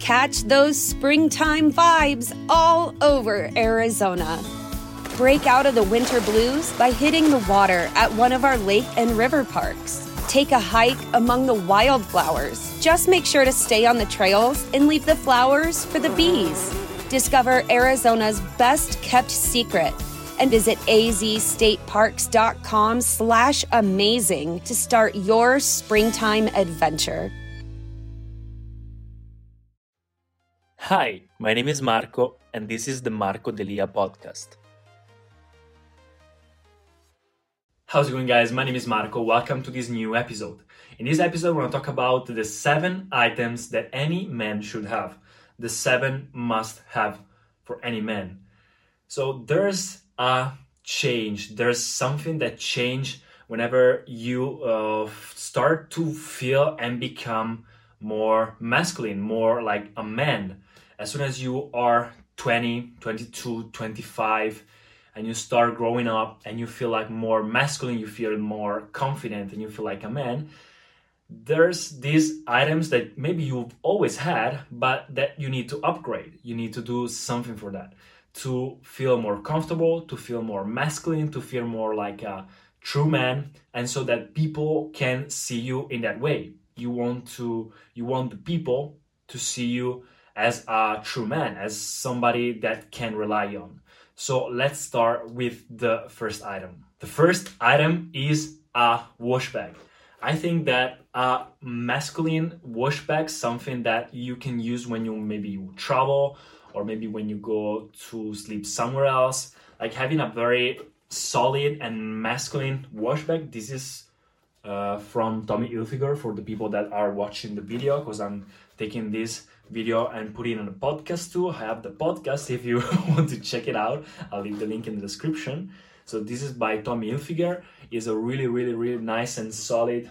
Catch those springtime vibes all over Arizona. Break out of the winter blues by hitting the water at one of our lake and river parks. Take a hike among the wildflowers. Just make sure to stay on the trails and leave the flowers for the bees. Discover Arizona's best-kept secret and visit azstateparks.com/amazing to start your springtime adventure. Hi, my name is Marco, and this is the Marco Delia podcast. How's it going, guys? My name is Marco. Welcome to this new episode. In this episode, we're going to talk about the 7 items that any man should have. The 7 must-have for any man. So there's a change. There's something that change whenever you start to feel and become more masculine, more like a man. As soon as you are 20, 22, 25, and you start growing up and you feel like more masculine, you feel more confident and you feel like a man, there's these items that maybe you've always had, but that you need to upgrade. You need to do something for that to feel more comfortable, to feel more masculine, to feel more like a true man, and so that people can see you in that way. You want the people to see you as a true man, as somebody that can rely on. So let's start with the first item. The first item is a wash bag. I think that a masculine wash bag, something that you can use when you travel, or maybe when you go to sleep somewhere else, like having a very solid and masculine wash bag. This is from Tommy Hilfiger for the people that are watching the video, because I'm taking this video and putting it on the podcast too. I have the podcast if you want to check it out. I'll leave the link in the description. So this is by Tommy Hilfiger. It's a really, really, really nice and solid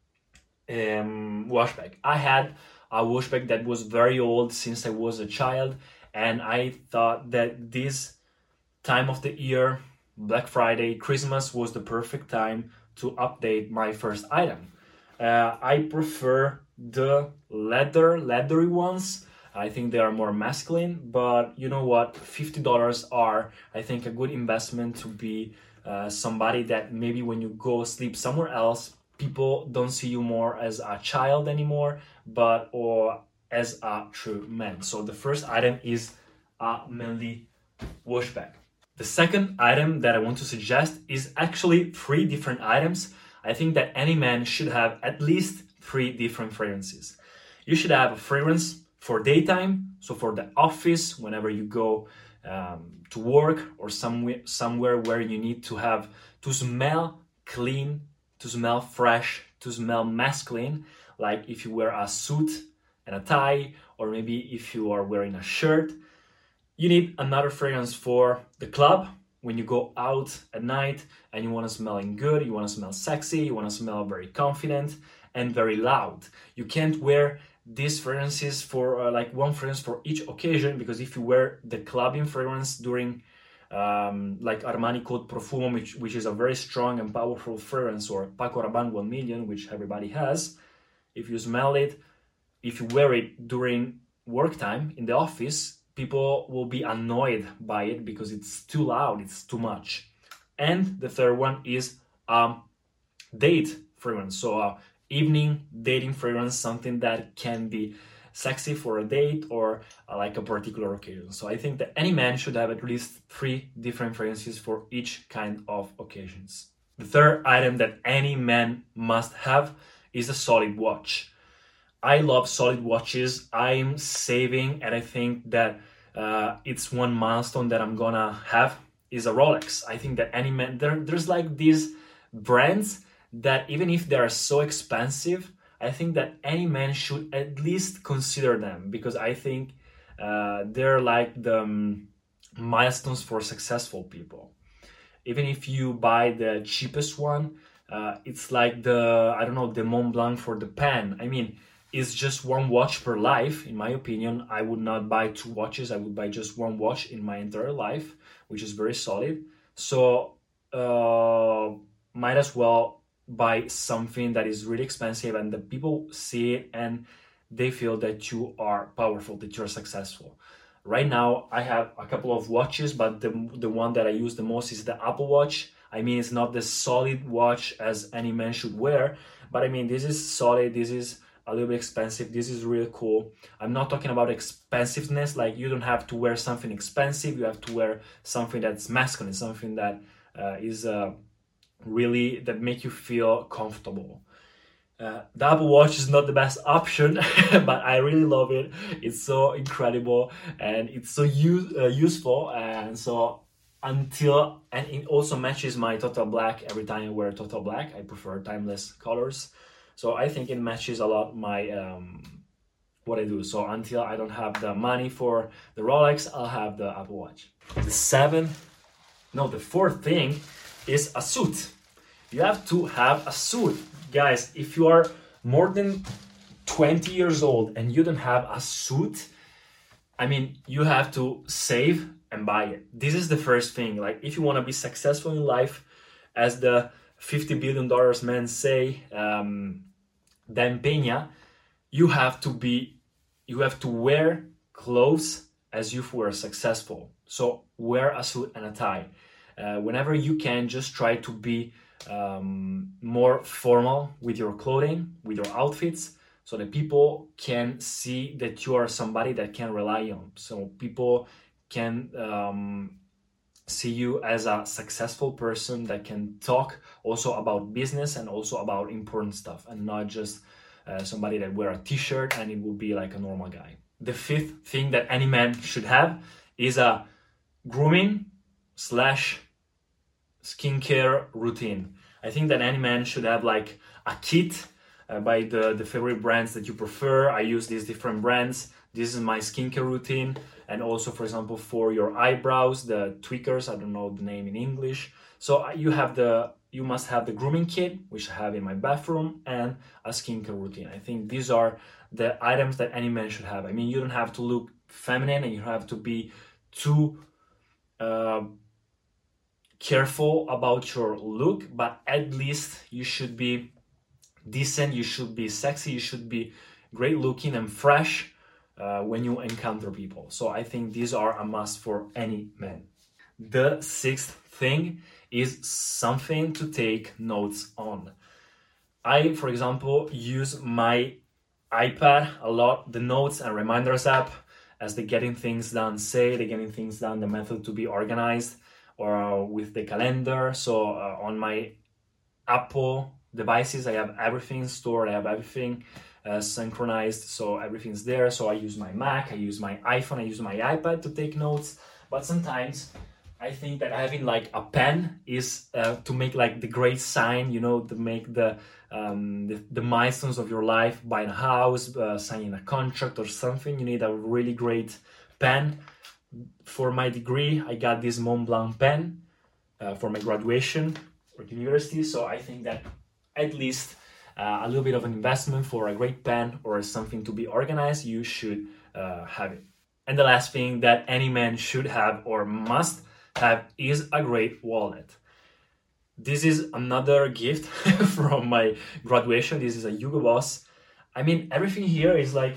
wash bag. I had a wash bag that was very old since I was a child, and I thought that this time of the year, Black Friday, Christmas, was the perfect time to update my first item. I prefer the leathery ones. I think they are more masculine, but you know what? $50 are, I think, a good investment to be somebody that maybe when you go sleep somewhere else, people don't see you more as a child anymore, or as a true man. So the first item is a manly wash bag. The second item that I want to suggest is actually 3 different items. I think that any man should have at least 3 different fragrances. You should have a fragrance for daytime, so for the office, whenever you go to work or somewhere where you need to smell clean, to smell fresh, to smell masculine, like if you wear a suit and a tie, or maybe if you are wearing a shirt. You need another fragrance for the club, when you go out at night and you want to smell good, you want to smell sexy, you want to smell very confident and very loud. You can't wear these fragrances for like one fragrance for each occasion, because if you wear the clubbing fragrance during like Armani Code Profumo, which is a very strong and powerful fragrance, or Paco Rabanne 1 Million, which everybody has, if you smell it, if you wear it during work time in the office, people will be annoyed by it because it's too loud, it's too much. And the third one is date fragrance. So evening dating fragrance, something that can be sexy for a date or like a particular occasion. So I think that any man should have at least 3 different fragrances for each kind of occasions. The third item that any man must have is a solid watch. I love solid watches. I'm saving, and I think that it's one milestone that I'm gonna have is a Rolex. I think that any man, there's like these brands that even if they are so expensive, I think that any man should at least consider them, because I think they're like the milestones for successful people. Even if you buy the cheapest one, it's like the Mont Blanc for the pen. I mean, it's just one watch per life. In my opinion, I would not buy 2 watches. I would buy just one watch in my entire life, which is very solid. So might as well buy something that is really expensive and the people see it and they feel that you are powerful, that you're successful. Right now, I have a couple of watches, but the one that I use the most is the Apple Watch. I mean, it's not the solid watch as any man should wear, but I mean, this is solid, this is a little bit expensive, this is really cool. I'm not talking about expensiveness, like you don't have to wear something expensive, you have to wear something that's masculine, something that is really, that make you feel comfortable. The Apple Watch is not the best option, but I really love it. It's so incredible and it's so useful. And so and it also matches my total black. Every time I wear total black, I prefer timeless colors. So I think it matches a lot my what I do. So until I don't have the money for the Rolex, I'll have the Apple Watch. The fourth thing is a suit. You have to have a suit. Guys, if you are more than 20 years old and you don't have a suit, I mean, you have to save and buy it. This is the first thing. Like, if you want to be successful in life, as the $50 billion men say, Dan Peña, you have to wear clothes as if you were successful. So wear a suit and a tie. Whenever you can, just try to be more formal with your clothing, with your outfits, so that people can see that you are somebody that can rely on. So people can see you as a successful person that can talk also about business and also about important stuff, and not just somebody that wear a t-shirt and it will be like a normal guy. The fifth thing that any man should have is a grooming / skincare routine. I think that any man should have like a kit by the favorite brands that you prefer. I use these different brands. This is my skincare routine. And also, for example, for your eyebrows, the tweakers, I don't know the name in English. So you must have the grooming kit, which I have in my bathroom, and a skincare routine. I think these are the items that any man should have. I mean, you don't have to look feminine and you don't have to be too careful about your look, but at least you should be decent, you should be sexy, you should be great looking and fresh when you encounter people. So I think these are a must for any man. The sixth thing is something to take notes on. I, for example, use my iPad a lot, the notes and reminders app, as the Getting Things Done the Getting Things Done, the method to be organized, or with the calendar. So on my Apple devices, I have everything stored, I have everything synchronized, so everything's there. So I use my Mac, I use my iPhone, I use my iPad to take notes. But sometimes I think that having like a pen is to make like the great sign, you know, to make the milestones of your life, buying a house, signing a contract or something. You need a really great pen. For my degree, I got this Montblanc pen for my graduation or university. So I think that at least a little bit of an investment for a great pen or something to be organized, you should have it. And the last thing that any man should have or must have is a great wallet. This is another gift from my graduation. This is a Hugo Boss. I mean, everything here is like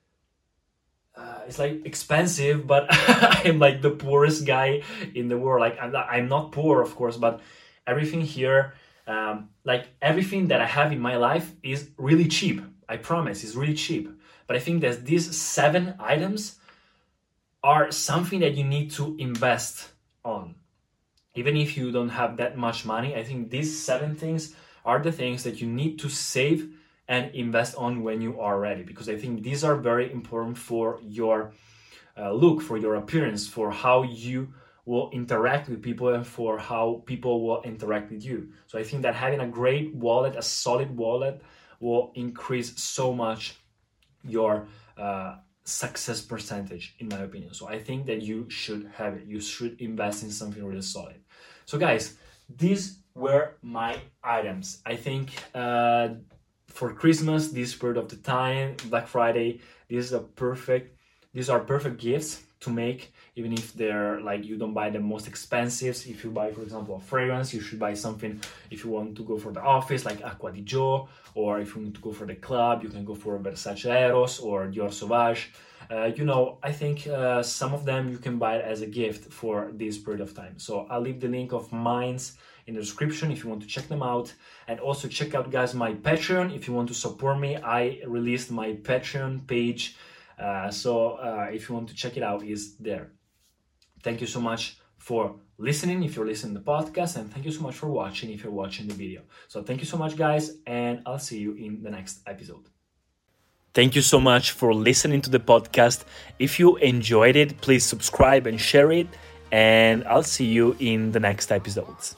it's like expensive, but I'm like the poorest guy in the world. Like I'm not poor, of course, but everything here, like everything that I have in my life is really cheap. I promise, it's really cheap. But I think that these 7 items are something that you need to invest on. Even if you don't have that much money, I think these 7 things are the things that you need to save and invest on when you are ready, because I think these are very important for your look, for your appearance, for how you will interact with people and for how people will interact with you. So I think that having a great wallet, a solid wallet, will increase so much your success percentage, in my opinion. So I think that you should have it. You should invest in something really solid. So guys, these were my items. I think for Christmas, this period of the time, Black Friday, these are perfect gifts to make, even if they're like, you don't buy the most expensive. If you buy, for example, a fragrance, you should buy something if you want to go for the office, like Acqua di Gio, or if you want to go for the club, you can go for Versace Eros or Dior Sauvage. I think some of them you can buy as a gift for this period of time. So I'll leave the link of mine's in the description if you want to check them out. And also check out, guys, my Patreon if you want to support me. I released my Patreon page, so if you want to check it out, it's there. Thank you so much for listening if you're listening to the podcast, and thank you so much for watching if you're watching the video. So thank you so much, guys, and I'll see you in the next episode. Thank you so much for listening to the podcast. If you enjoyed it, please subscribe and share it, and I'll see you in the next episodes.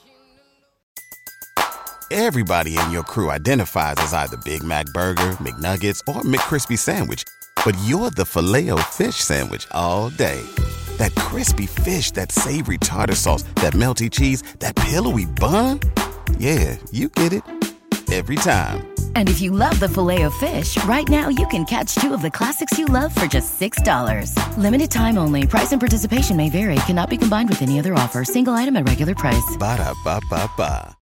Everybody in your crew identifies as either Big Mac Burger, McNuggets, or McCrispy Sandwich. But you're the Filet-O-Fish Sandwich all day. That crispy fish, that savory tartar sauce, that melty cheese, that pillowy bun. Yeah, you get it. Every time. And if you love the Filet-O-Fish, right now you can catch two of the classics you love for just $6. Limited time only. Price and participation may vary. Cannot be combined with any other offer. Single item at regular price. Ba-da-ba-ba-ba.